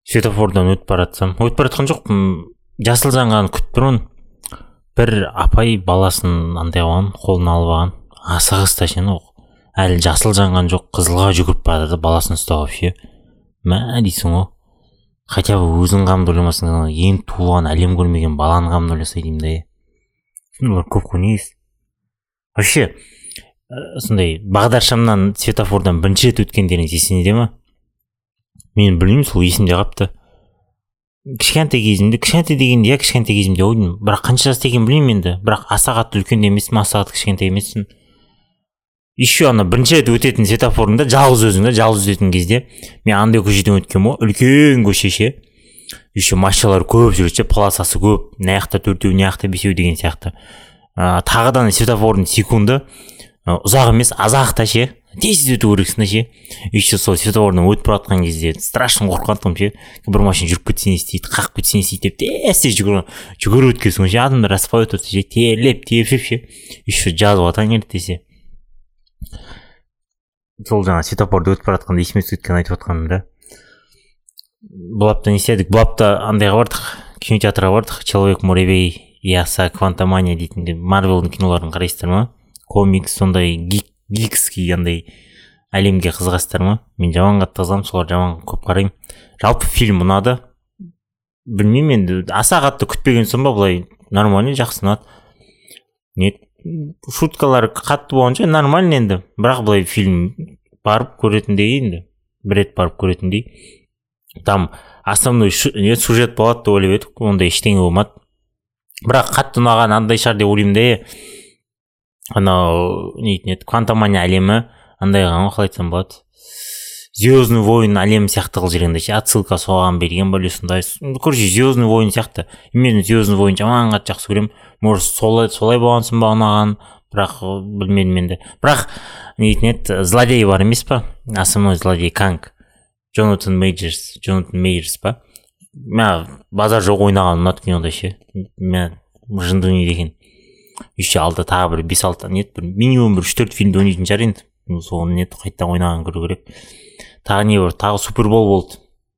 светофордан өтіп бара жатқан жоқпын, жасыл жанғанын күтіп тұрмын. Бір апай баласын андай қылған, қолына алып алған, асығыс ташын, әлі жасыл жанған жоқ, қызылға жүгіріп барады, баласын ұстап вообще. Мә дейсің ғой, хотя бы өзің қамды ойламасың, ең туылған, әлем көрмеген баланы қамды ойласа деймін да. Олар көп қой, негіз. Вообще, сондай бағдаршамнан, светофордан бірінші рет өткендеріңіз есіңде ме? Мен білмеймін, сол есімде қапты. Кішкентай дегенде, кішкентай кезімде ойдым, бірақ қанша жаста екенін білмеймін енді, бірақ аса қатты үлкен емеспін, аса қатты кішкентай емеспін. Еще ана бірінші рет өтетін светофорында жалғыз өтетін кезде мен андай көшеден өткенмін ғой, үлкен көше ше. Еще машиналар көп жүреді, полосасы көп, мына жақта төртеу, мына жақта бесеу деген сияқты. Тағыдан светофордың секунды ұзақ емес, азақта ше, тез өту керексің ше. Еще сол светофордан өтіп бара жатқан кезде страшно қорқатынмын ше. Бір машина жүріп кетсе не істейді, қағып кетсе не істейді деп тез жүгіріп өткенсің ше, адамдар аспай өтіп ше, терлеп ше. Еще жазуға таң келді десе. Сол жаңа светофорды өтіп бара жатқанда есіме түскен айтып жатқаным да. Бұл апта не істедік? Бұл апта андайға бардық, кинотеатрға бардық, Человек-муравей и оса Квантомания дейтін Марвелдің киноларын қарайсыздар ма? Комикс, сондай гикский андай әлемге қызығасыздар ма? Мен жаман қатты қызығамын, солар жаман көп қараймын. Жалпы фильм ұнады. Білмеймін енді, аса қатты күтпеген соң ба, былай нормально, жақсы ұнады. Шуткалар қатты болғанша нормально енді, бірақ былай фильм барып көретіндей енді, бір рет барып көретіндей. Там основной сюжет болады деп ойлап едік, ондай ештеңе болмады. Бірақ қатты ұнаған андай шығар деп ойлаймын да. Анау Квантомания әлемі андай қалған, қалай айтсам болады, Звездный войн әлемі сияқты қылып жүргенде ше, отсылка соған берген бөле сондай. Короче, Звездный войн сияқты. Мен Звездный войн жаман қатты жақсы көремін. Может, солай болғансын ба ұнаған, бірақ білмедім енді. Бірақ злодей бар емес па? Основной злодей Канг. Джонатан Мейджерс па? Мен базар жоқ ойнаған ұнады кинода ше. Мен жынды ойнайды екен. Еще алда тағы бір 5-6 минимум бір 3-4 фильмді ойнайтын шығар енді. Соны қайттан ойнаған көру керек. Тағы Супербол болды.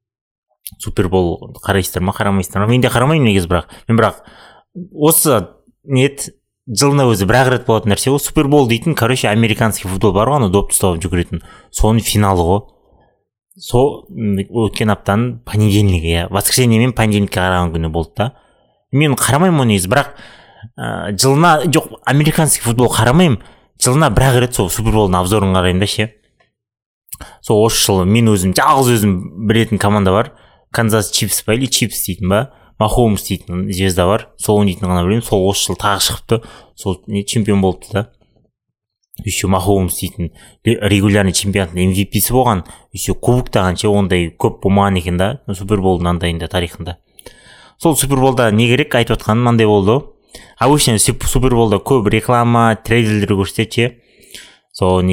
Супербол қарайсыздар ма, қарамайсыздар ма? Мен де қарамаймын негізі, бірақ осы жылына өзі бір рет болатын нәрсе ғой. Супербол дейтін, короче, американский футбол бар ғой, допты ұстап жүгіретін. Соның финалы ғой. Сол өткен аптаның понедельнигі, воскресенье мен понедельникке қараған күні болды да. Мен қарамаймын оны негізі, бірақ жылына, жоқ, американский футбол қарамаймын. Жылына бір рет сол Суперболдың обзорын қараймын да ше. Сол осы жылы мен жалғыз білетін команда бар. Канзас Чифс па или Чифс дейтін ба, Махоумс дейтін звезда бар. Сол ойнайтын ғана білемін. Сол осы жылы тағы шығыпты. Сол чемпион болыпты да. Еще Махоумс дейтін регулярный чемпионаттың MVP-сі болған. Еще кубоктаған ше, ондай көп болмаған екен да, Суперболдың андайында тарихында. Сол Суперболда не керек айтып отқаным мынандай болды. Обычно Суперболда көп реклама, трейлерлер көрсетеді. Сол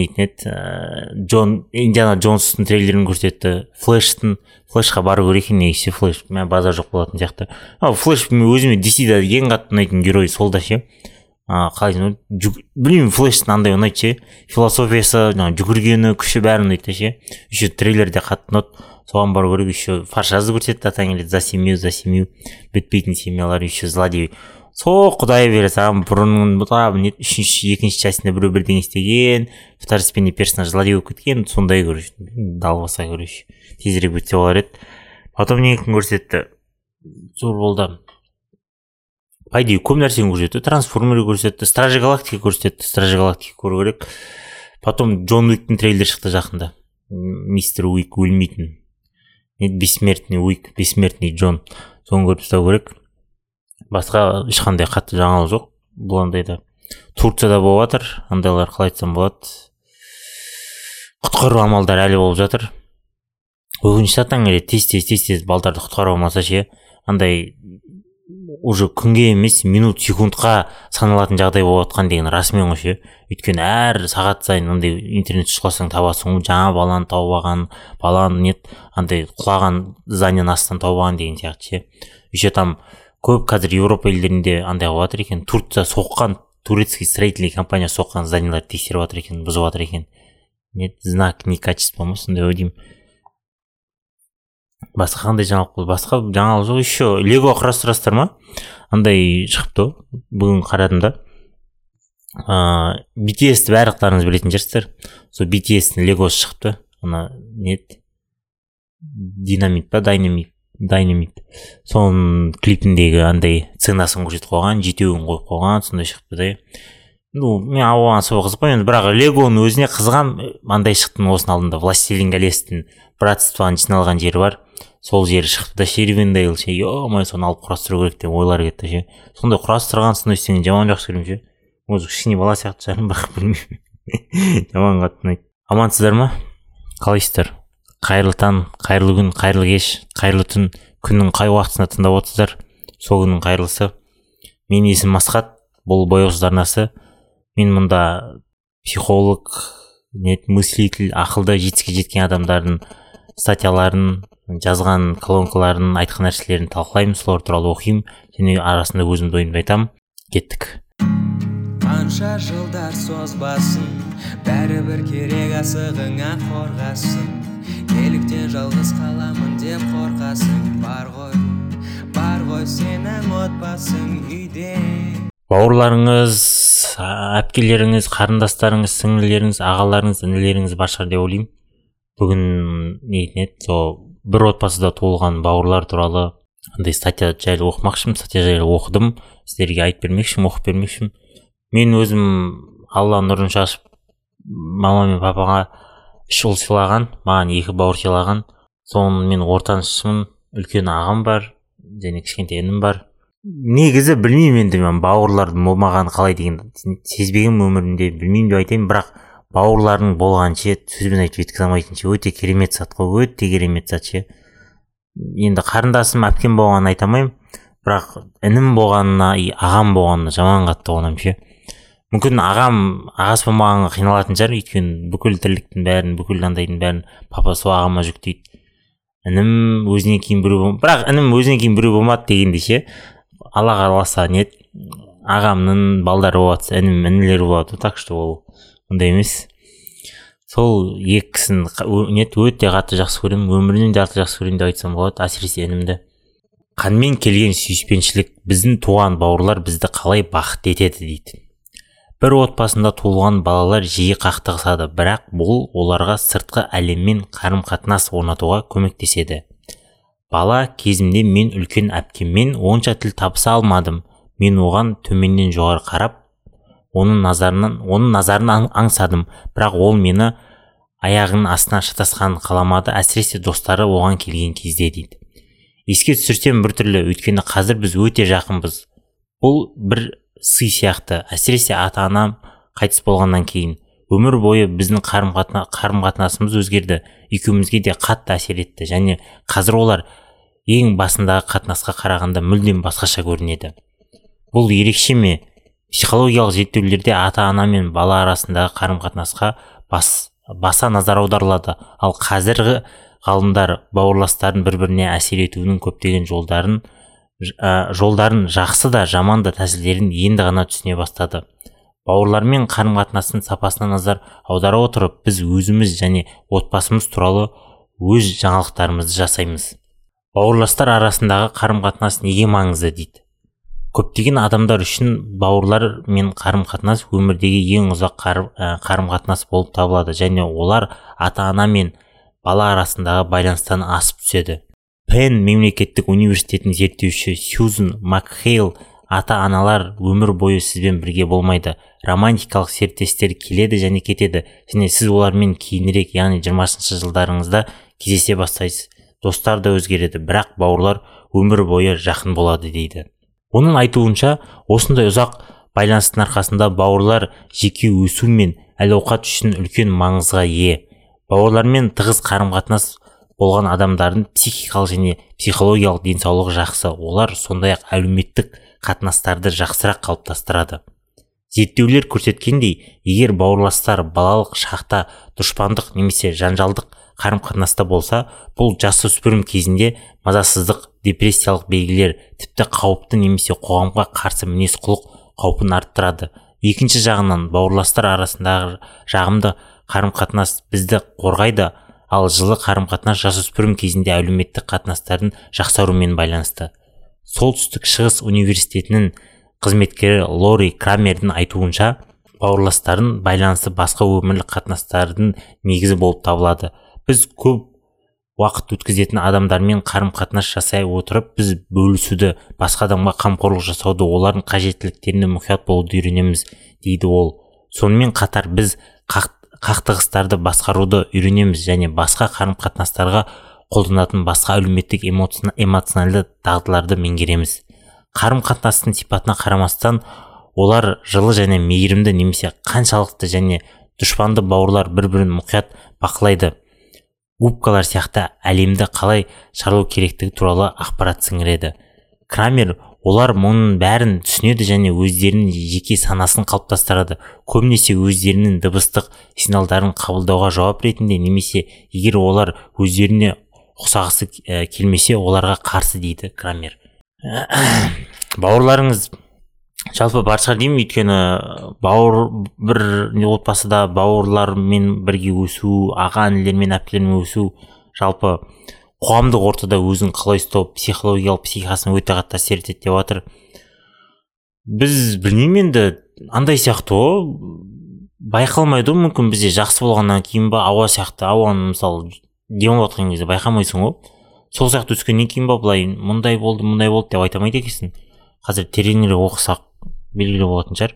Индиана Джонстың трейлерін көрсетті. Флешқа бару керек екен негізі, Флеш. Мен базар жоқ болатын сияқты. Флеш өзіме DC-да ең қатты ұнайтын герой сол да ше. Қалай білмеймін, Флештің андай ұнайды ше. Философиясы, жүгіргені, күші бәрін ұнайды ше. Еще трейлерде қатты ұнады. Соған бару керек. Еще Фаршазды көрсетті, атаң келеді. За семью. Бітпейтін семьялар, еще злодей. Сол құдай бере саған бұрынның екінші частында біреу бірдеңе істеген, второстепенный персонаж злодей болып кеткен, сондай көріш, далбаса көріш, тезірек бітсе болар еді. Потом не көрсетті, зор болды. По идее, көп нәрсені көрсетті, трансформер көрсетті, Стражи Галактика көрсетті, Стражи Галактика көру керек. Потом Джон Уиктің трейлер шықты жақында. Мистер Уик өлмейтін. Бессмертный Уик, бессмертный Джон. Соны көріп ұстау керек. Басқа ешқандай қатты жаңалық жоқ. Бұл андайда Турцияда болып жатыр. Андайлар қалай айтсам болады. Құтқару амалдары әлі болып жатыр. Өкінішті атаң келеді, тез балдарды құтқару алмаса ше. Андай уже күнге емес, минут, секундқа саналатын жағдай болып жатқан деген расымен ғой ше. Өйткені әр сағат сайын андай интернет шықласаң табасың, жаңа баланы тауып алған, баланы андай құлаған зданиенің астынан тауып алған деген сияқты ше. Еще там көп қазір Европа елдерінде андай болып жатыр екен. Турция соққан, турецкий строительный компания соққан зданиелерді тексеріп жатыр екен, бұзып жатыр екен. Знак некачества ма, сондай деймін. Басқа қандай жаңалық болды? Басқа жаңалық жоқ. Еще лего құрастырасыздар ма? Андай шығыпты бүгін қарадым да. BTS-ті барлықтарыңыз білетін шығарсыздар. Сол BTS-тің легосы шықты. Ана не еді? Динамит па, дайнамит. Соның клипіндегі андай сценасын көрсетіп қойған, жетеуін қойып қойған, сондай шықты да. Мен оған сол қызықпаймын, бірақ легоның өзіне қызығам. Андай шықтың осының алдында Властелин колестің братствоның жиналған жері бар. Сол жері шықты да, Ривендейл ше, ё-май, соны алып құрастыру керек деп ойлар кетті ше. Сондай құрастырған сондай істеген жаман жақсы көремін ше. Өзі кішкене бала сияқты шығармын, бірақ білмеймін. Жаман қатты ұнайды. Амансыздар ма? Қалайсыздар? Қайырлы таң, қайырлы күн, қайырлы кеш, қайырлы түн. Күннің қай уақытысында тыңдап отырсыздар? Сол күннің қайырлысы. Менің есімім Асхат, бұл бояусыз арнасы. Мен мұнда психолог, мыслитель, ақылды жетістікке жеткен адамдардың статьяларын, жазған колонкаларын, айтқан нәрселерін талқылаймын, солар туралы оқимын, және арасында өзімді ойымды айтамын. Кеттік. Қанша жылдар созбасын, бәрібір керек асығыңа қорғасын. Неліктен жалғыз қаламын деп қорқасың? Бар ғой сенің отбасың үйде. Бауырларыңыз, әпкелеріңіз, қарындастарыңыз, сіңлілеріңіз, ағаларыңыз, інілеріңіз бар шығар деп ойлаймын. Бүгін нетін еді, сол бір отбасыда туылған бауырлар туралы андай статья жайлы оқымақшымын, статья жайлы оқыдым, сіздерге айтып бермекшімін, оқып бермекшімін. Мен өзім Алла нұрын шашып, мама мен папаға 3 ұл сыйлаған, маған 2 бауыр сыйлаған. Соның мен ортаншымын, үлкен ағам бар, және кішкентай інім бар. Негізі білмеймін енді мен бауырлардың болмағаны қалай деген сезбеген өмірімде, білмеймін деп айтайын, бірақ бауырлардың болғанше сөзбен айтып жеткізе алмайтынша өте керемет зат қой, өте керемет зат ше. Енді қарындасым, әпкем болғанын айта алмаймын, бірақ інім болғанына, ағам болғанына жаман қатты қуанамын ше. Мүмкін ағасы болмағанға қиналатын шығар, өйткені бүкіл тірліктің бәрін, бүкіл андайдың бәрін папа сол ағама жүктейді. Інім өзінен кейін біреу болмады, бірақ інім өзінен кейін біреу болмады дегенде ше, Алла қаласа нет, ағамның балдары болады, інім інілері болады, так что ол ондай емес. Сол екі кісіні өте қатты жақсы көремін, өмірінен де қатты жақсы көремін деп айтсам болады, әсіресе інімді. Қанмен келген сүйіспеншілік, біздің туған бауырлар бізді қалай бақытты етеді дейді. Бір отбасында туылған балалар жиі қақтығысады, бірақ бұл оларға сыртқы әлеммен қарым-қатынас орнатуға көмектеседі. Бала кезімде мен үлкен әпкеммен онша тіл табыса алмадым. Мен оған төменнен жоғары қарап, оның назарынан аңсадым, бірақ ол мені аяғының астына шатасқанын қаламады, әсіресе достары оған келген кезде дейді. Еске түсірсем біртүрлі, өйткені қазір біз өте жақынбыз. Бұл бір сый сияқты, әсіресе ата-анам қайтыс болғаннан кейін. Өмір бойы біздің қарым-қатынасымыз өзгерді, екеумізге де қатты әсер етті, және қазір олар ең басындағы қатынасқа қарағанда мүлдем басқаша көрінеді. Бұл ерекше ме? Психологиялық зерттеулерде ата-ана мен бала арасындағы қарым-қатынасқа баса назар аударылады, ал қазіргі ғалымдар бауырластардың бір-біріне әсер етуінің көптеген жолдарын жақсы да жаман да тәсілдерін енді ғана түсіне бастады. Бауырлармен қарым-қатынастың сапасына назар аудара отырып, біз өзіміз және отбасымыз туралы өз жаңалықтарымызды жасаймыз. Бауырластар арасындағы қарым-қатынас неге маңызды дейді. Көптеген адамдар үшін бауырлар мен қарым-қатынас өмірдегі ең ұзақ қарым-қатынас болып табылады, және олар ата-ана мен бала арасындағы байланыстан асып түседі. Пенн мемлекеттік университетінің зерттеуші Сьюзен Макхейл, ата-аналар өмір бойы сізбен бірге болмайды. Романтикалық серіктестер келеді және кетеді, және сіз олармен кейінірек, яғни 20-шы жылдарыңызда кездесе бастайсыз. Достар да өзгереді, бірақ бауырлар өмір бойы жақын болады дейді. Оның айтуынша, осындай ұзақ байланыстың арқасында бауырлар жеке өсу мен әл-ауқат үшін үлкен маңызға ие. Бауырлармен тығыз қарым-қатынас болған адамдардың психикалық және психологиялық денсаулығы жақсы. Олар сондай-ақ әлеуметтік қатынастарды жақсырақ қалыптастырады. Зерттеулер көрсеткендей, егер бауырластар балалық шақта дұшпандық немесе жанжалдық қарым-қатынаста болса, бұл жасөспірім кезінде мазасыздық, депрессиялық белгілер, тіпті қауіпті немесе қоғамға қарсы мінез-құлық қаупін арттырады. Екінші жағынан, бауырластар арасындағы жағымды қарым-қатынас бізді қорғайды, ал жылы қарым-қатынас жасөспірім кезінде әлеуметтік қатынастардың жақсаруымен байланысты. Солтүстік шығыс университетінің қызметкері Лори Крамердің айтуынша, бауырластардың байланысы басқа өмірлік қатынастардың негізі болып табылады. Біз көп уақыт өткізетін адамдармен қарым-қатынас жасай отырып, біз бөлісуді, басқа адамға қамқорлық жасауды, олардың қажеттіліктеріне мұқият болуды үйренеміз, дейді ол. Сонымен қатар біз қақтығыстарды басқаруды үйренеміз және басқа қарым-қатынастарға қолданатын басқа әлеуметтік эмоционалды дағдыларды меңгереміз. Қарым-қатынастың сипатына қарамастан, олар жылы және мейірімді немесе қаншалықты және дұшпанды бауырлар бір-бірін мұқият бақылайды. Губкалар сияқты әлемді қалай шарлау керектігі туралы ақпарат сіңіреді. Крамер олар мұның бәрін түсінеді және өздерінің жеке санасын қалыптастырады. Көбінесе өздерінің дыбыстық сигналдарын қабылдауға жауап ретінде, немесе егер олар өздеріне ұқсағысы келмесе, оларға қарсы, дейді Крамер. Бауырларыңыз жалпы бар шығар деймін, өйткені бір отбасыда бауырлармен бірге өсу, аға інілермен әпкелермен өсу, жалпы қоғамдық ортада өзін қалай ұстау, психологиялық психикасын өте қатты әсер етеді деп жатыр. Біз білмеймін, енді андай сияқты байқалмайды, мүмкін бізде жақсы болғаннан кейін ба, ауа сияқты, ауаны мысалы демалып жатқан кезде байқамайсың ғой. Сол сияқты өскеннен кейін ба, былай мұндай болды деп айта алмайды екенсің. Қазір тереңірек оқысақ белгілі болатын шығар.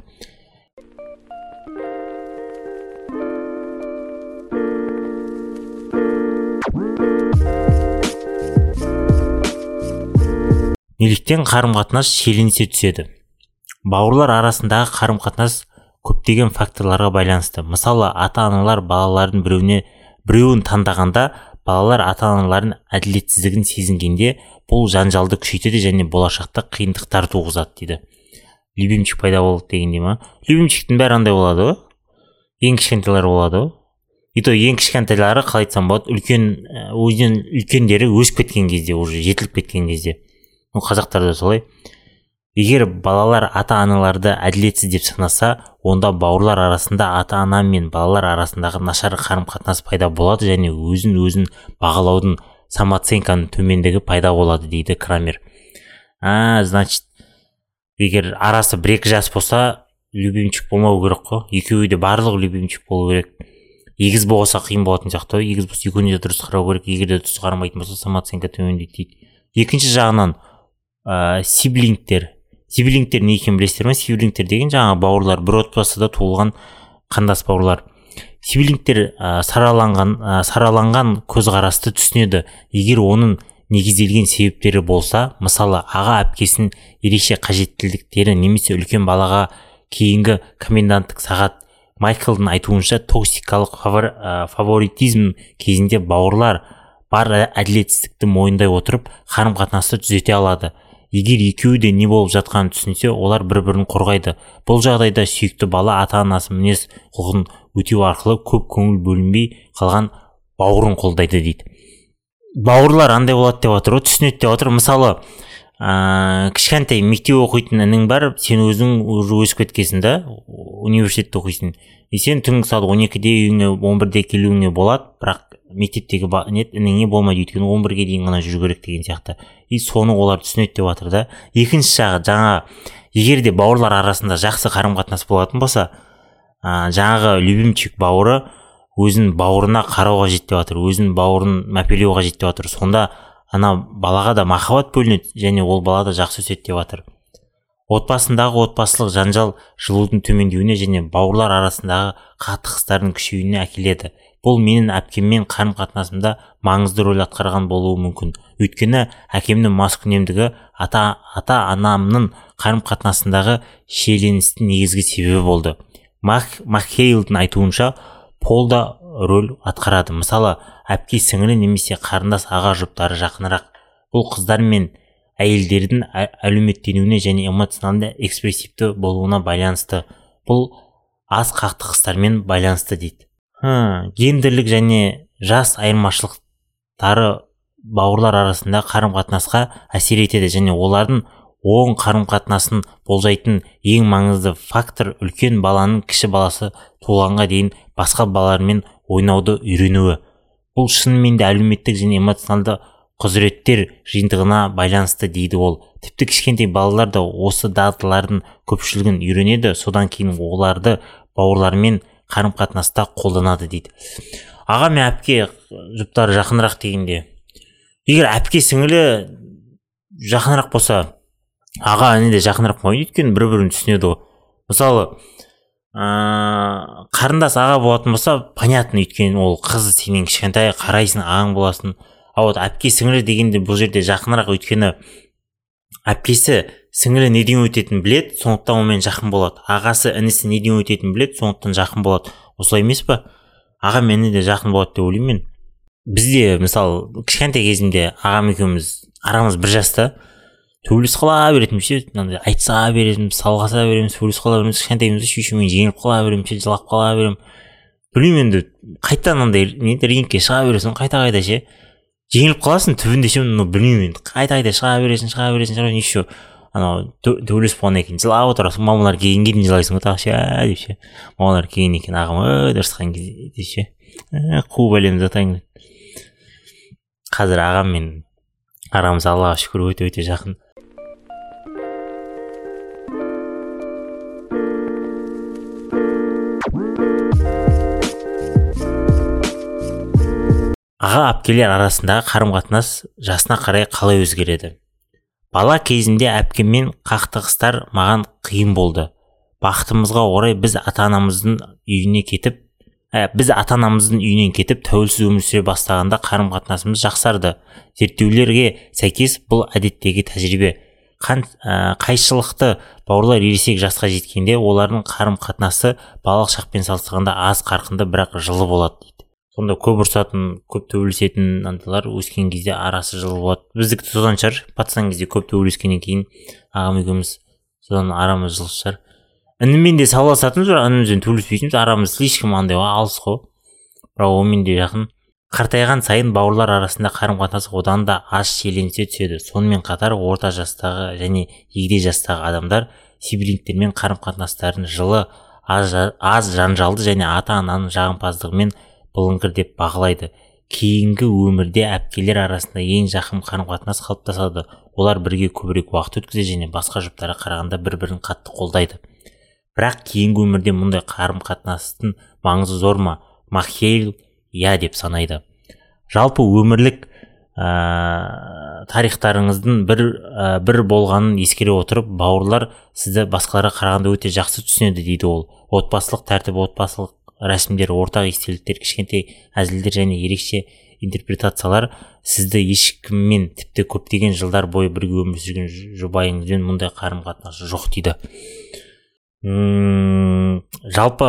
Неліктен қарым-қатынас шиеленісе түседі? Бауырлар арасындағы қарым-қатынас көптеген факторларға байланысты. Мысалы, ата-аналар балалардың біреуін таңдағанда, балалар ата-аналардың әділетсіздігін сезінгенде, бұл жанжалды күшейтеді және болашақта қиындықтар туғызады, дейді. Любимчик пайда болды дегенде ма? Любимчиктің бәрі андай болады ғой. Ең кішкентайлар болады ғой. И то ең кішкентайлары, қалай айтсам болады, өзінен үлкендері өсіп кеткен кезде, уже жетіліп кеткен кезде. Қазақтарда солай. Егер балалар ата-аналарды әділетсіз деп санаса, онда бауырлар арасында ата-ана мен балалар арасындағы нашар қарым-қатынас пайда болады және өзін бағалаудың, самооценканың төмендігі пайда болады, дейді Крамер. Значит, егер арасы 1-2 жас болса, любимчик болмау керек қой. Екеуі де барлығы любимчик болу керек. Егіз болса қиын болатын сияқты, егіз болса екеуіне де дұрыс қарау керек, егер де дұрыс қарамайтын болса, самооценка төмендейді, дейді. Екінші жағынан сиблингтер не екенін білесіздер ме? Сиблингтер деген жаңағы бауырлар, бір отбасыда туылған қандас бауырлар. Сиблингтер сараланған көзқарасты түсінеді. Егер оның негізделген себептері болса, мысалы, аға әпкесінің ерекше қажеттіліктері немесе үлкен балаға кейінгі коменданттық сағат. Майклдың айтуынша, токсикалық фаворитизм кезінде бауырлар бар әділетсіздікті мойындай отырып, қарым-қатынасты түзете алады. Егер екеуі де не болып жатқанын түсінсе, олар бір-бірін қорғайды. Бұл жағдайда сүйікті бала ата-анасы мінез құлқын өтеу арқылы көп көңіл бөлінбей қалған бауырын қолдайды, дейді. Бауырлар андай болады деп отыр, түсінеді деп отыр. Мысалы, кішкентай мектеп оқитын інің бар, сен өзің өсіп кеткенсің да, университетте оқисың. Сен түнгі сағат 12-де үйіңе 11-де келуіңе болады, бірақ мектептегі ініңе болмайды, өйткені 11-ге дейін ғана жүру керек деген сияқты. И соны олар түсінеді деп жатыр да. Екінші жағы, егер де бауырлар арасында жақсы қарым-қатынас болатын болса, жаңағы любимчик бауыры өзін бауырына қарауға жетіп жатыр, өзін бауырын мәпелеуға жетіп жатыр. Сонда ана балаға да махаббат бөлінеді және ол бала да жақсы өседі деп жатыр. Отбасындағы отбасылық жанжал жылудың төмендеуіне және бауырлар арасындағы қақтығыстардың күшеюіне әкеледі. Бұл менің әпкеммен қарым-қатынасымда маңызды рөл атқарған болуы мүмкін. Өйткені әкемнің маскүнемдігі ата-анамның қарым-қатынасындағы шиеленістің негізгі себебі болды. Макхейлдің айтуынша, пол да рөл атқарады. Мысалы, әпке сіңілі немесе қарындас аға жұптары жақынырақ. Бұл қыздар мен әйелдердің әлеуметтенуіне және эмоционалды экспрессивті болуына байланысты. Бұл аз қақтығыстармен байланысты, дейді. Гендерлік және жас айырмашылықтары бауырлар арасында қарым-қатынасқа әсер етеді және олардың оң қарым-қатынасын болжайтын ең маңызды фактор үлкен баланың кіші баласы туылғанға дейін басқа балалармен ойнауды үйренуі. бұл шынымен де әлеуметтік және эмоционалды құзыреттер жиынтығына байланысты дейді ол. Тіпті кішкентай балалар да осы дағдылардың көпшілігін үйренеді, содан кейін оларды бауырлармен қарым-қатынаста қолданады дейді. Аға мен әпке жұптары жақынырақ дегенде, егер әпке сіңілі жақынырақ болса, аға іні де жақынырақ болмайды, өйткені бір-бірін түсінеді ғой. Мысалы, қарындас аға болатын болса, понятно, өйткені ол қыз сенен кішкентай, қарайсың, ағаң боласың. А вот әпке сіңілі дегенде бұл жерде жақынырақ, өйткені әпкесі сіңілі неден өтетінін біледі, сондықтан онымен жақын болады. Ағасы інісі неден өтетінін біледі, сондықтан жақын болады. Осылай емес па? Аға мен де жақын болады деп ойлаймын мен. Бізде мысалы кішкентай кезімде ағам екеуміз арамыз бір жаста, төбелесіп қала беретінбіз ше, айтыса беретінбіз, салғаса береміз, төбелесіп қала береміз, кішкентайымызда шешемен жеңіліп қала береміз ше, жылап қала беремін. Білмеймін енді қайтадан андай рингке шыға бересің, қайта ше. Жеңіліп қаласың түбінде ше, білмеймін енді қайта шыға бересің, еще анау төбелесіп болғаннан кейін жылап отырасың, мамалар келгенге дейін жылайсың ғой тағы ше деп ше. Мамалар келгеннен кейін ағам дұрысқан кезде ше, қуып әлемді затайын. Қазір ағам мен арамыз Аллаға шүкір өте жақын. Аға әпкелер арасындағы қарым-қатынас жасына қарай қалай өзгереді? Бала кезімде әпкеммен қақтығыстар маған қиын болды. Бақытымызға орай біз ата-анамыздың үйінен кетіп тәуелсіз өмір сүре бастағанда қарым-қатынасымыз жақсарды. Зерттеулерге сәйкес бұл әдеттегі тәжірибе. Қайшылықты бауырлар ересек жасқа жеткенде олардың қарым-қатынасы балалық шақпен салыстырғанда аз қарқынды, бірақ жылы болады дейді. Сонда көп ұрсатын, көп төбелесетін анталар өскен кезде арасы жылы болады. Біздікі содан шығар, пацан кезде көп төбелескеннен кейін ағам екеуміз содан арамыз жылы шығар. Інімен де салғыласатынбыз, бірақ інімізбен төбелеспейтінбіз, арамыз слишком андай алыс қой. Бірақ онымен де жақын. Қартайған сайын бауырлар арасында қарым-қатынас одан да аз шиеленісе түседі. Сонымен қатар орта жастағы және егде жастағы адамдар сиблингтермен қарым-қатынастарын жылы, аз жанжалды және ата-ананың жағымпаздығымен бұлыңғыр деп бағалайды. Кейінгі өмірде әпкелер арасында ең жақын қарым-қатынас қалыптасады. Олар бірге көбірек уақыт өткізеді және басқа жұптарға қарағанда бір-бірін қатты қолдайды. Бірақ кейінгі өмірде мұндай қарым-қатынастың маңызы зор ма? Махейл деп санайды. Жалпы өмірлік тарихтарыңыздың бір болғанын ескере отырып, бауырлар сізді басқаларға қарағанда өте жақсы түсінеді дейді ол. Отбасылық тәртіп, отбасылық рәсімдер, ортақ естеліктер, кішкентай әзілдер және ерекше интерпретациялар сізді ешкіммен, тіпті көптеген жылдар бойы бірге өмір сүрген жұбайыңызбен мұндай қарым-қатынас жоқ дейді. Жалпы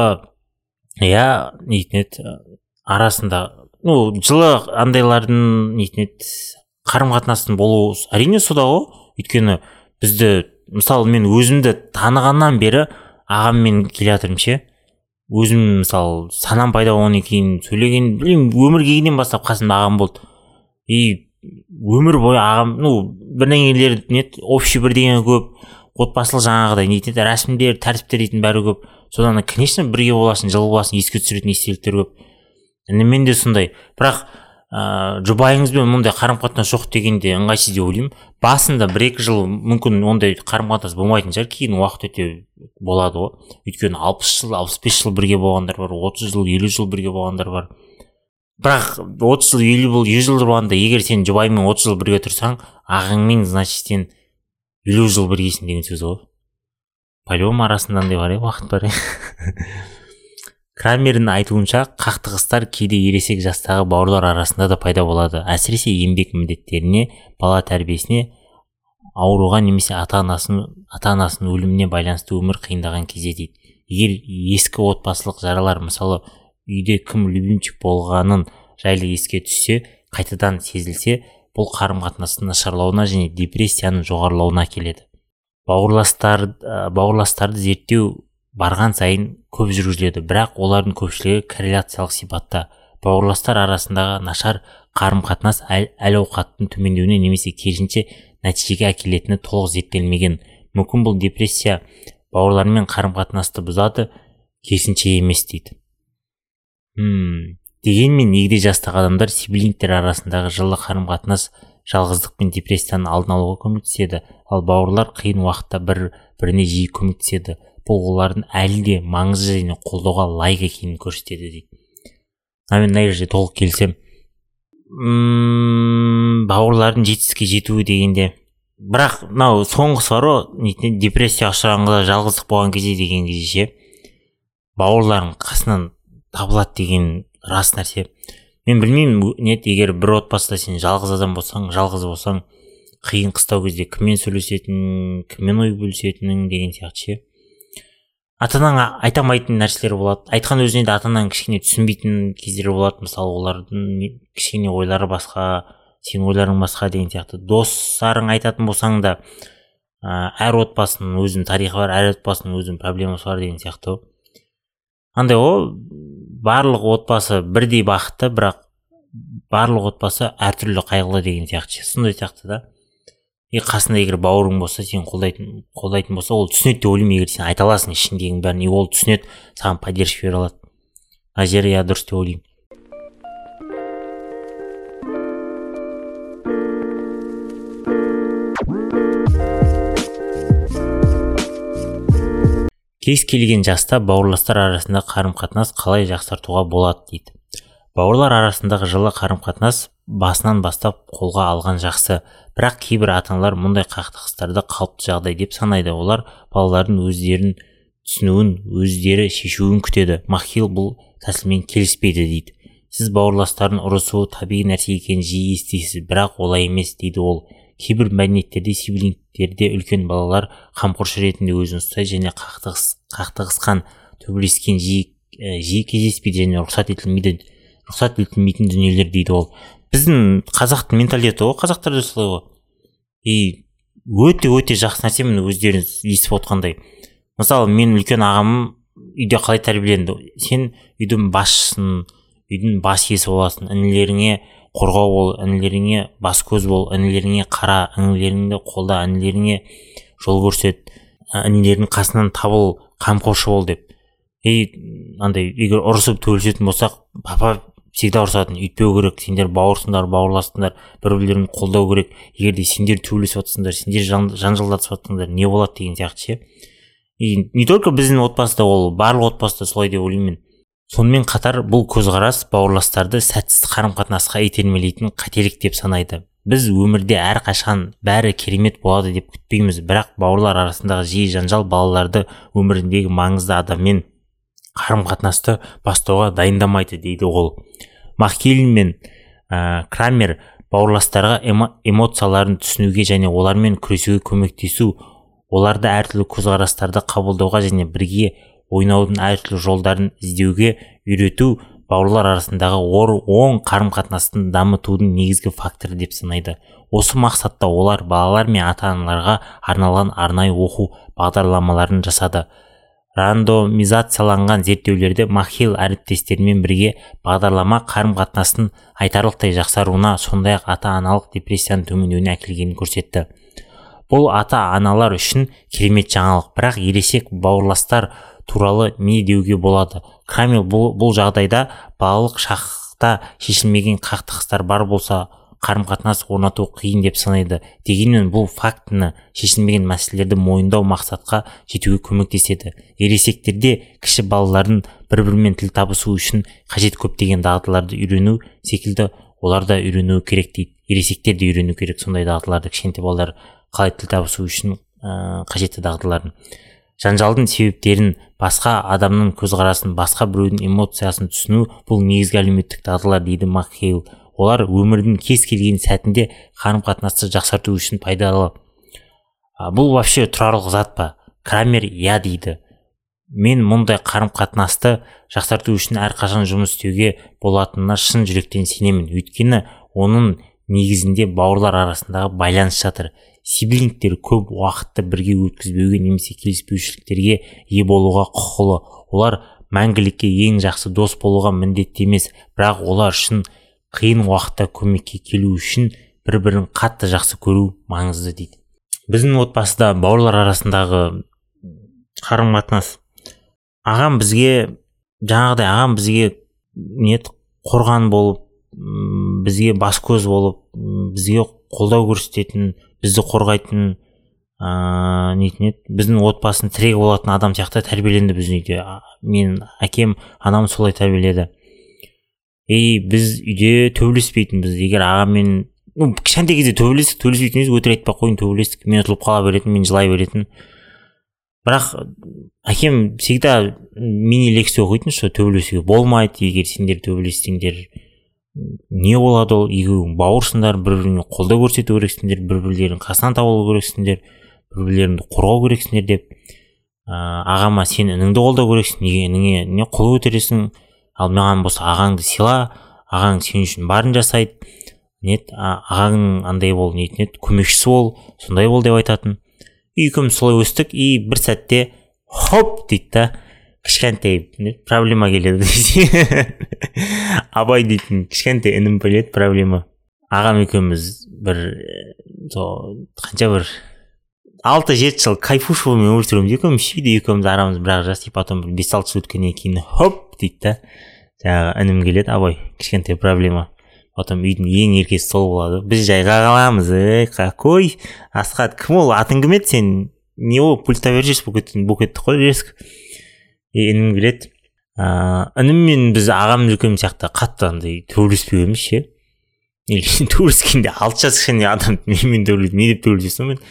арасында жылы андайлардың қарым-қатынастың болуы әрине сода ғой. Өйткені бізді, мысалы мен өзімді танығаннан бері ағаммен келе жатырмын ше. Өзім мысалы санам пайда болғаннан кейін сөйлеген, өмір келгеннен бастап қасымда ағам болды. Өмір бойы ағам, бірдеңелер общий бірдеңе көп, отбасылық жаңағыдай рәсімдер, тәртіптер дейтін бәрі көп. Содан конечно бірге боласың, жылы боласың, еске түсіретін естеліктер көп. Мен де сондай. Бірақ жұбайыңызбен мұндай қарым-қатынас жоқ дегенде ыңғайсыз деп ойлаймын. Басында 1-2 жыл мүмкін ондай қарым-қатынас болмайтын шығар, кейін уақыт өте болады ғой. Өйткені 60 жыл, 65 жыл бірге болғандар бар, 30 жыл, 50 жыл бірге болғандар бар. Бірақ 30 жыл, 100 жыл болғанда, егер сен жұбайыңмен 30 жыл бірге тұрсаң, ағаңмен, значит, сен 50 жыл біргесің деген сөз ғой. По-любому арасында андай бар, уақыт бар. Крамердің айтуынша, қақтығыстар кейде ересек жастағы бауырлар арасында да пайда болады. Әсіресе еңбек міндеттеріне, бала тәрбиесіне, ауруға немесе ата-анасының өліміне байланысты өмір қиындаған кезде дейді. Егер ескі отбасылық жаралар, мысалы, үйде кім любимчик болғанын жайлы еске түссе, қайтадан сезілсе, бұл қарым-қатынастың нашарлауына және депрессияның жоғарылауына келеді. Бауырластарды зерттеу барған сайын көп жүргізіледі, бірақ олардың көпшілігі корреляциялық сипатта. Бауырластар арасындағы нашар қарым-қатынас әл-ауқаттың төмендеуіне немесе керісінше нәтижеге әкелетіні толық зерттелмеген. Мүмкін бұл депрессия бауырлармен қарым-қатынасты бұзады, керісінше емес дейді. Дегенмен егде жастағы адамдар сиблингтер арасындағы жылы қарым-қатынас жалғыздық пен депрессияның алдын алуға көмектеседі, ал бауырлар қиын уақытта біріне жиі көмектеседі. Бұл олардың әлі де маңызды және қолдауға лайық екенін көрсетеді дейді. Мен мына жерде толық келісем. Бауырлардың жетістікке жетуі дегенде, бірақ мынау соңғысы бар ғой, депрессияға ұшырағанда жалғыздық болған кезде деген кезде бауырлардың қасынан табылады деген рас нәрсе. Мен білмеймін, егер бір отбасыда сен жалғыз адам болсаң, жалғыз болсаң, қиын қыстау кезде кіммен сөйлесетінің, кіммен ой бөлісетінің деген сияқты. Ата-анаң айта алмайтын нәрселер болады. Айтқан өзіне де ата-анаң кішкене түсінбейтін кездер болады. Мысалы, олардың кішкене ойлары басқа, сен ойларың басқа деген сияқты. Достарың айтатын болсаң да, әр отбасының өзінің тарихы бар, әр отбасының өзінің проблемасы бар деген сияқты. Андай барлық отбасы бірдей бақытты, бірақ барлық отбасы әртүрлі қайғылы деген сияқты. Сондай сияқты да. Қасында егер бауырың болса, сен қолдайтын болса, ол түсінеді деп ойлаймын. Егер сен айта аласың ішіндегінің бәрін, ол түсінеді, саған поддержка бере алады. Мына жері дұрыс деп ойлаймын. Кез келген жаста бауырластар арасында қарым-қатынас қалай жақсартуға болады дейді. Бауырлар арасындағы жылы қарым-қатынас басынан бастап қолға алған жақсы, бірақ кейбір ата-аналар мұндай қақтығыстарды қалыпты жағдай деп санайды. Олар балалардың өздерін түсінуін, өздері шешуін күтеді. Махил бұл тәсілмен келіспейді дейді. Сіз бауырластардың ұрысуы табиғи нәрсе екенін жиі естисіз, бірақ олай емес дейді ол. Кейбір мәдениеттерде сиблингтерде үлкен балалар қамқоршы ретінде өзін ұстайды және қақтығысқан, төбелескен жиі кездеспейді және рұқсат етілмейтін дүниелер дейді ол. Біздің қазақтың менталитеті ғой, қазақтарда солай ғой. Өте жақсы нәрсе, міне өздеріңіз естіп отқандай. Мысалы, мен үлкен ағамым үйде қалай тәрбиеленді? Сен үйдің басшысың, үйдің бас иесі боласың, інілеріңе қорғау бол, інілеріңе бас көз бол, інілеріңе қара, інілеріңді қолда, інілеріңе жол көрсет, інілердің қасынан табыл, қамқоршы бол деп. Андай егер ұрысып төбелесетін болсақ, папа всегда ұрысатын, үйтпеу керек, сендер бауырсыңдар, бауырластыңдар, бір-бірлерін қолдау керек. Егер де сендер төбелесіп жатсыңдар, сендер жанжалдасып жатсыңдар, не болады деген сияқты. Не только біздің отбасыда, ол барлық отбасыда солай деп ойлаймын. Сонымен қатар бұл көзқарас бауырластарды сәтсіз қарым-қатынасқа итермелейтін қателік деп санайды. Біз өмірде әрқашан бәрі керемет болады деп күтпейміз, бірақ бауырлар арасындағы жиі жанжал балаларды өміріндегі маңызды адаммен қарым-қатынасты бастауға дайындамайды дейді ол. Махил мен Крамер бауырластарға эмоцияларын түсінуге және олармен күресуге көмектесу, оларды әртүрлі көзқарастарды қабылдауға және бірге ойнаудың әртүрлі жолдарын іздеуге үйрету бауырлар арасындағы оң қарым-қатынастың дамытудың негізгі факторы деп санайды. Осы мақсатта олар балалар мен ата-аналарға арналған арнайы оқу бағдарламаларын жасады. Рандомизацияланған зерттеулерде Махил әріптестерімен бірге бағдарлама қарым-қатынастың айтарлықтай жақсаруына, сондай-ақ ата-аналық депрессияның төмендеуіне әкелгенін көрсетті. Бұл ата-аналар үшін керемет жаңалық, бірақ ересек бауырластар туралы не деуге болады? Крамер бұл жағдайда балалық шақта шешілмеген қақтығыстар бар болса, қарым-қатынас орнату қиын деп санайды. Дегенмен бұл фактіні шешілмеген мәселелерді мойындау мақсатқа жетуге көмектеседі. Ересектерде кіші балалардың бір-бірімен тіл табысу үшін қажет көптеген дағдыларды үйрену секілді олар да үйренуі керек дейді. Ересектер де үйрену керек сондай дағдыларды, кішкентай балалар қалай тіл табысу үшін қажетті дағдыларын. Жанжалдың себептерін, басқа адамның көзқарасын, басқа біреудің эмоциясын түсіну бұл негізгі әлеуметтік дағдылар дейді Махил. Олар өмірдің кез келген сәтінде қарым-қатынасты жақсарту үшін пайдалы. Бұл вообще тұрарлық зат па? Крамер дейді. Мен мұндай қарым-қатынасты жақсарту үшін әрқашан жұмыс істеуге болатынына шын жүректен сенемін. Өйткені оның негізінде бауырлар арасындағы байланыс жатыр. Сиблингтер көп уақытты бірге өткізбеуге немесе келіспеушіліктерге ие болуға құқылы. Олар мәңгілікке ең жақсы дос болуға міндетті емес, бірақ олар үшін қиын уақытта көмекке келу үшін бір-бірін қатты жақсы көру маңызды дейді. Біздің отбасыда бауырлар арасындағы қарым-қатынас. Ағам бізге қорған болып, бізге бас көз болып, бізге қолдау көрсететін, бізді қорғайтын, нетін еді, біздің отбасын тірегі болатын адам сияқты тәрбиеленді біздің үйде. Мен әкем, анам солай тәрбиеледі. Біз үйде төбелеспейтінбіз. Егер ағаммен кішкентай кезде төбелеспейтінбіз, өтірік айтпай қойын, төбелестік. Мен ұтылып қала беретін, мен жылай беретін. Бірақ әкем всегда мини-лекция оқитын, что төбелесуге болмайды, егер сендер төбелессеңдер не болады, ол екеуің бауырсыңдар, бір-біріңе қолдау көрсету керексіңдер, бір-бірлерің қасынан табылу керексіңдер, бір-бірлеріңді қорғау керексіңдер деп. Ағама сен ініңді қолдау керексің, неге ініңе не қол көтересің, ал маған болса ағаңды сыйла, ағаң сен үшін барын жасайды, ағаң андай бол, көмекшісі бол, сондай бол деп айтатын. Екеуміз солай өстік, бір сәтте хоп дейді да, кішкентай проблема келеді. Абай дейтін кішкентай інім келеді, проблема. Ағам екеуміз қанша 6-7 жыл кайфушевыймен өмір сүреміз. Екеуміз арамыз бірақ жас, потом 5-6 жыл өткеннен кейін хоп дейді да, жаңағы інім келеді, Абай, кішкентай проблема. Потом үйдің ең еркесі сол болады. Біз жайға қаламыз, какой Асхат, кім ол, атың кім еді сен, не ол, пульта беріп жүрсіз, букетті қой резк. Інім келеді. Ініммен біз ағамыз екеуміз сияқты қатты андай төбелеспеуіміз ше. Төбелескенде 6 жас кішкене адам менімен төбелесіп, не деп төбелесесің мен.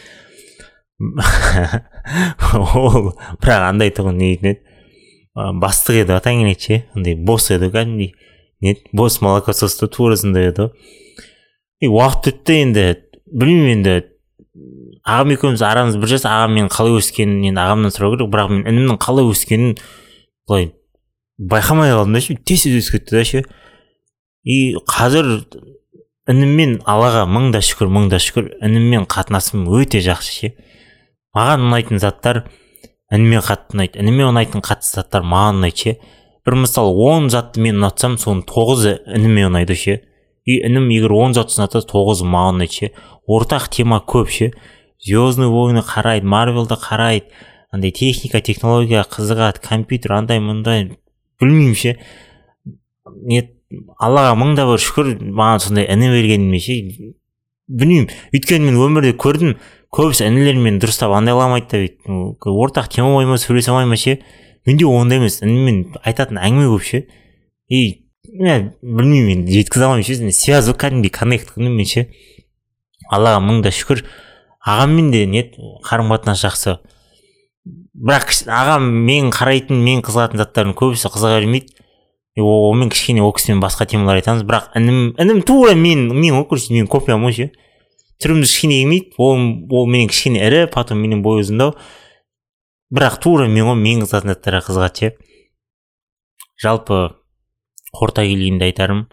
Ол бірақ андай тұғын не еді, бастық еді атаң келеді ше, андай босс еді кәдімгідей. Бос молокососты турасында еді. Уақыт өтті, енді білмеймін, енді ағам екеуміз арамыз бір жас. Ағам мен қалай өскенін енді ағамнан сұрау керек, бірақ мен інімнің қалай өскенін былай байқамай қалдым да ше, тез өсіп кетті да ше. Қазір ініммен Аллаға мың да шүкір, ініммен қатынасым өте жақсы ше. Маған ұнайтын заттар ініме қатты ұнайды, ініме ұнайтын қатты заттар маған ұнайды ше. Бір мысалы 10 затты мен ұнатсам, соның 9-ы ініме ұнайды ше. Інім егер 10 затты ұнатса, 9-ы маған ұнайды ше. Ортақ тема көп ше. Звездный войны қарайды, Марвелді қарайды, андай техника, технология қызығады, компьютер андай мындай, білмеймін ше. Аллаға мың да бір шүкір, маған сондай іні бергеніме ше. Білмеймін, өйткені мен өмірде көрдім, көбісі інілермен дұрыстап андайламайды да, ортақ тема болмай ма, сөйлесе алмай ма ше. Менде ондай емес, ініммен айтатын әңгіме көп ше. Білмеймін, жеткізе алмайм ше, связь кәдімгідей коннект қылдым ше. Аллаға мың да шүкір. Ағаммен де қарым-қатынас жақсы. Бірақ ағам мен қарайтын, мен қызығатын заттардың көбісі қызыға бермейді. Мен кішкене ол кісімен басқа темалар айтамыз, бірақ інім тура мен копиям ғой ше. Түрімді кішкене келмейді, ол менен кішкене ірі, потом менен бой ұзындау. Бірақ тура мен қызатын заттарға қызығады ше. Жалпы қорыта келгенде айтарым,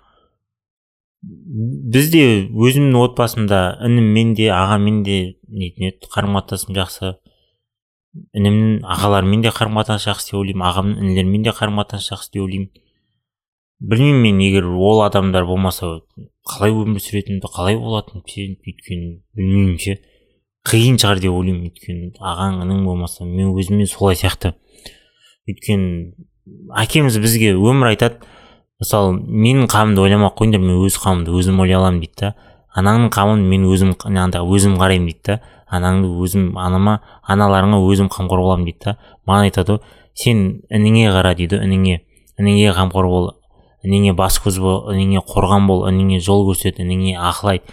бізде өзімнің отбасымда ініммен де ағамен де қарым-қатынасым жақсы. Інімнің ағаларымен де қарым-қатынас жақсы деп ойлаймын, ағамның інілерімен де қарым-қатынас жақсы деп ойлаймын. Білмеймін, мен егер ол адамдар болмаса қалай өмір сүретінімді, қалай болатынын өйткені білмеймін ше. Қиын шығар деп ойлаймын, өйткені ағаң інің болмаса мен өзіммен солай сияқты. Өйткені әкеміз бізге өмір айтады, мысалы менің қамымды ойламай қойыңдар, мен өз қамымды өзім ойлай аламын дейді да. Анаңның қамын мен өзім қараймын дейді да. Анаңды өзім, аналарыңа өзім қамқор боламын дейді да. Маған айтады, сен ініңе қара дейді, ініңе қамқор бол, ініңе бас көз бол, ініңе қорған бол, ініңе жол көрсет, ініңе ақыл айт,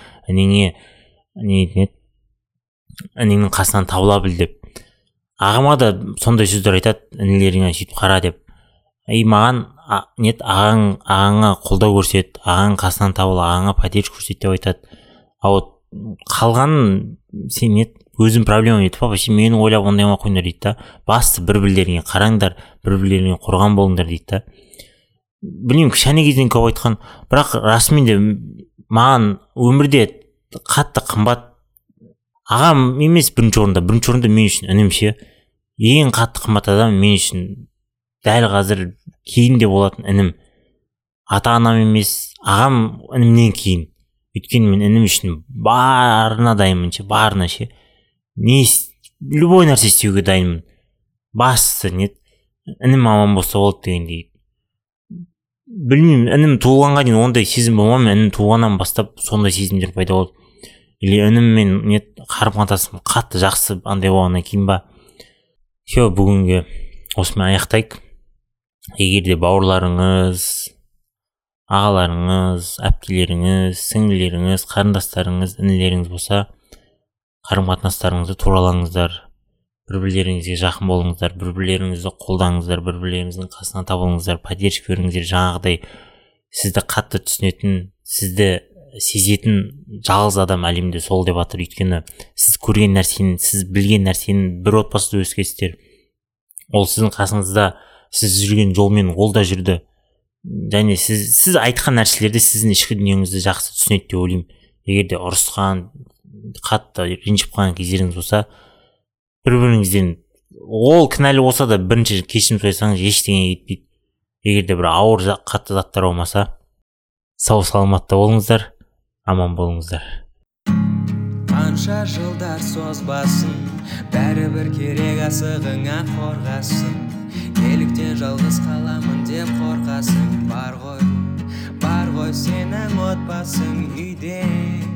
ініңнің қасынан табыла біл деп. Ағама да сондай сөздер айтады, інілеріңе сөйтіп қара деп. Маған ағаңа қолдау көрсет, ағаң қасынан табыл, ағаңа поддержка көрсет деп айтады. Қалғанын сен өзің проблема етіп, вообще мені ойлап ондайма қойыңдар дейді да. Басты бір-бірлеріңе қараңдар, бір-бірлеріңе қорған болыңдар дейді да. Білмеймін, кішкене кезден көп айтқан, бірақ расымен де маған өмірде қатты қымбат ағам емес бірінші орында мен үшін інім ше. Ең қатты қымбат адам мен үшін дәл қазір кейінде болатын інім. Ата-анам емес, ағам інімнен кейін. Өйткені мен інім үшін барына дайынмын ше, барына ше. Любой нәрсе істеуге дайынмын. Басты інім аман болса болды дегендей. білмеймін, інім туылғанға дейін ондай сезім болмаған, інім туылғаннан бастап сондай сезімдер пайда болды. Или ініммен қарым қатынасым қатты жақсы андай болғаннан кейін ба. Все, бүгінге осымен аяқтайық. Егер де бауырларыңыз, ағаларыңыз, әпкелеріңіз, сіңлілеріңіз, қарындастарыңыз, інілеріңіз болса, қарым қатынастарыңызды туралаңыздар, бір-бірлеріңізге жақын болыңыздар, бір-бірлеріңізді қолдаңыздар, бір-бірлеріңіздің қасына табылыңыздар, поддержка беріңіздер. Жаңағыдай сізді қатты түсінетін, сізді сезетін жалғыз адам әлемде сол деп жатыр. Өйткені сіз көрген нәрсені, сіз білген нәрсені бір отбасыда өскенсіздер. Ол сіздің қасыңызда, сіз жүрген жолмен ол да жүрді. Және сіз айтқан нәрселерді сіздің ішкі дүниеңізді жақсы түсінеді деп ойлаймын. Егер де ұрысқан, қатты ренжіп қалған кездеріңіз болса, бір-біріңізден ол кінәлі болса да бірінші кешірім сұрасаңыз ештеңе кетпейді. Егер де бір ауыр қатты заттар болмаса, сау саламатта болыңыздар, аман болыңыздар. Қанша жылдар созбасын, бәрібір керек асығыңа қорғасын. Неліктен жалғыз қаламын деп қорқасың? Бар ғой сенің отбасың үйде.